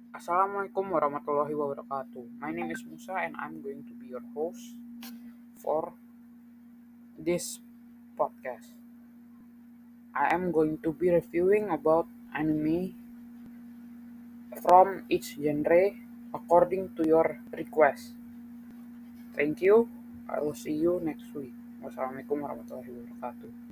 Assalamualaikum warahmatullahi wabarakatuh. My name is Musa and I'm going to be your host for this podcast. I am going to be reviewing about anime from each genre according to your request. Thank you. I will see you next week. Wassalamualaikum warahmatullahi wabarakatuh.